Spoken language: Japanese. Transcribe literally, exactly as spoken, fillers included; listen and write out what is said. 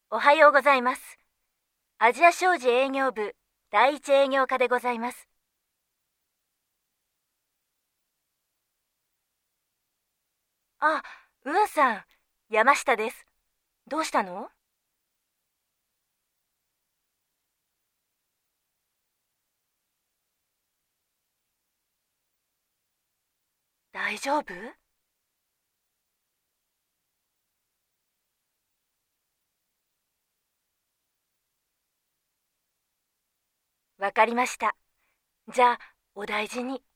おはようございます。アジア商事営業部第一営業課でございます。あ、ウーさん、山下です。どうしたの？大丈夫？わかりました。じゃあ、お大事に。